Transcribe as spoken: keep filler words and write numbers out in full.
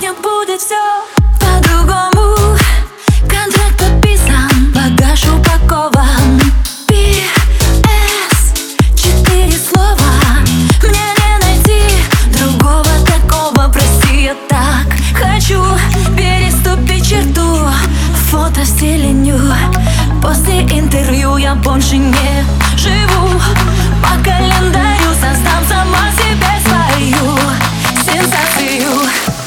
помню, будет все по-другому. Контракт подписан, багаж упакован. Пи эс, четыре слова. Мне не найти другого такого. Прости, я так хочу переступить черту. Фото в стиле ню. После интервью я больше не живу по календарю. Создам сама себе свою сенсацию.